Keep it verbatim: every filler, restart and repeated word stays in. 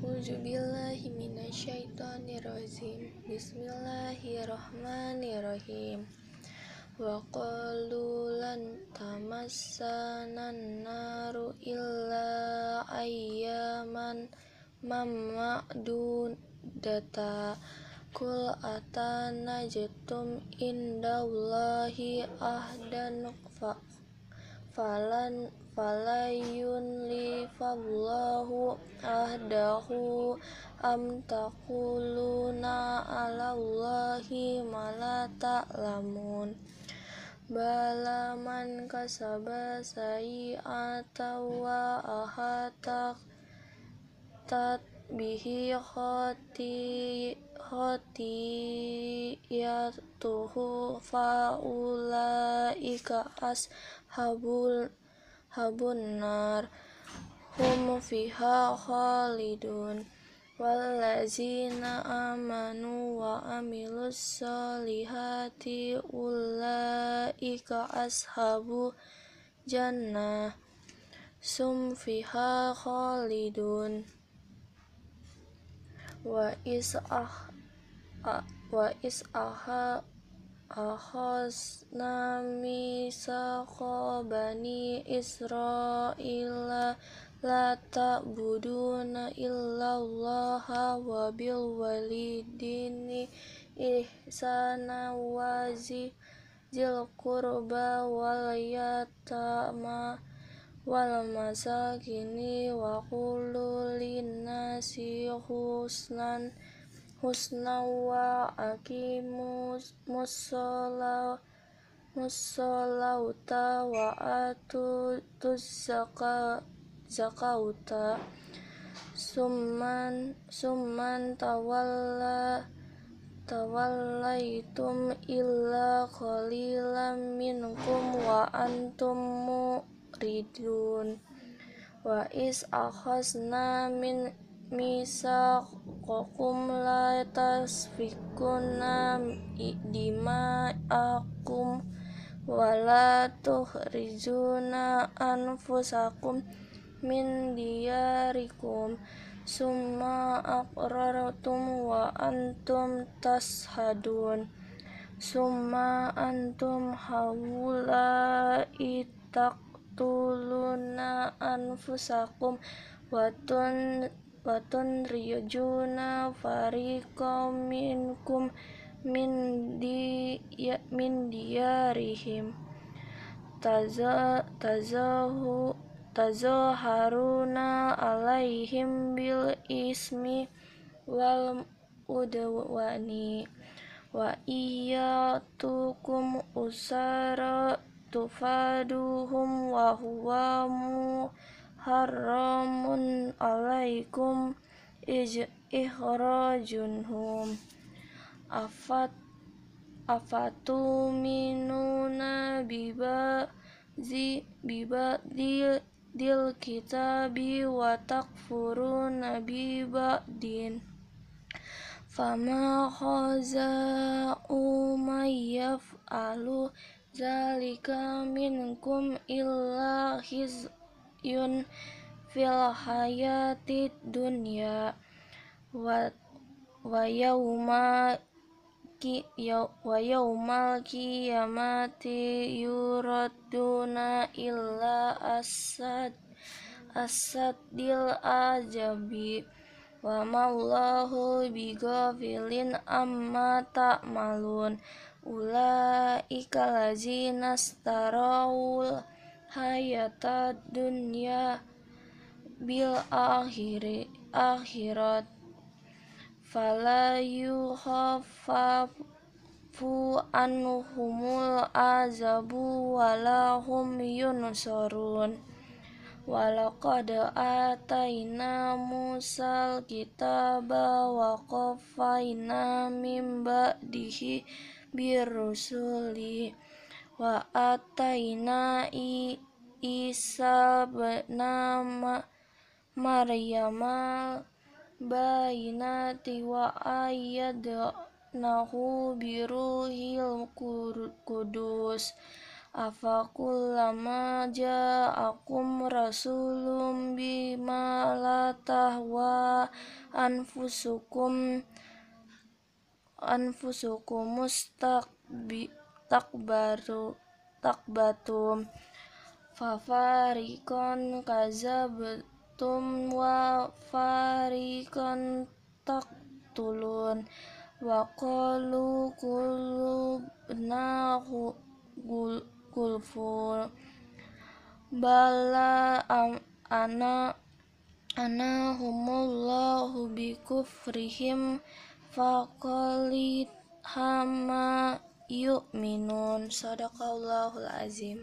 A'udzubillahi minasyaitonirrajim. Bismillahirrahmanirrahim. Wa qalu lan tamassanan naru illa ayyaman mama'dudata kul atanajtum indallahi ahdan fa falan falayun li fallahu ahdahu am taquluna alallahi ma la ta'lamun bala man kasaba sayi'atan wa ahatat tat bihi khoti khotiyatuhu faulaika ashabul habun nar hum fiha khalidun wallazina amanu wa amilus solihati ulaika ashabu jannah sum fiha khalidun wa is ah wa is aha akhazna mitsaqa bani Israila la ta'buduna illallaha wa bil walidaini ihsana wa zil qurba wal yatama wal masakini wa qulu linnasi husnan husna wa aqimus musalla musallauta wa atu tuzaka zakauta summan summan tawalla tawallaitum illa qalilan minkum wa antum muridun wa is akhazna min misaqakum la tasfikuna dima'akum wa la tukhrijuna anfusakum min diyarikum summa aqrartum wa antum tashhadun summa antum haula'i taqtuluna anfusakum watun watun riyajuna fariqam minkum min di ya, min diyarihim taza tazahu tazaharuna alaihim bil ismi wal udwani wa iyatukum usara tufaduhum wa huwa muharramun alaikum ij ikhrajunhum afat afatuminuna biba zi biba dil dil kitabi wa takfuruna biba din fama khaza'u mayyaf'alu zalika minkum illa khizyun fil hayatid dunya wa wa yauma ki wa yaumal qiyamati yuraduna illa asad asadil ajabi wa maulahu bighafilin amma ta'malun ulaika lazina starawul hayatad dunya bil akhiri akhirat fala yukhaffafu anhumul azabu walahum yunsarun walaqad ataina Musal kitaba wa qaffayna min ba'dihi birrusuli wa ataina Isa bna Maryama bayinati wa ayyadnahu biruhil kudus afakullama ja'akum rasulun bima la tahwa anfusukum anfusukum mustakbi takbaru takbatum fafariqan kadzabtum wa fariqan taqtulun wa qalu qulubna gulfun bala ana ana humullahu bikufrihim faqalit hama yu'minun. Sadaqallahul azim.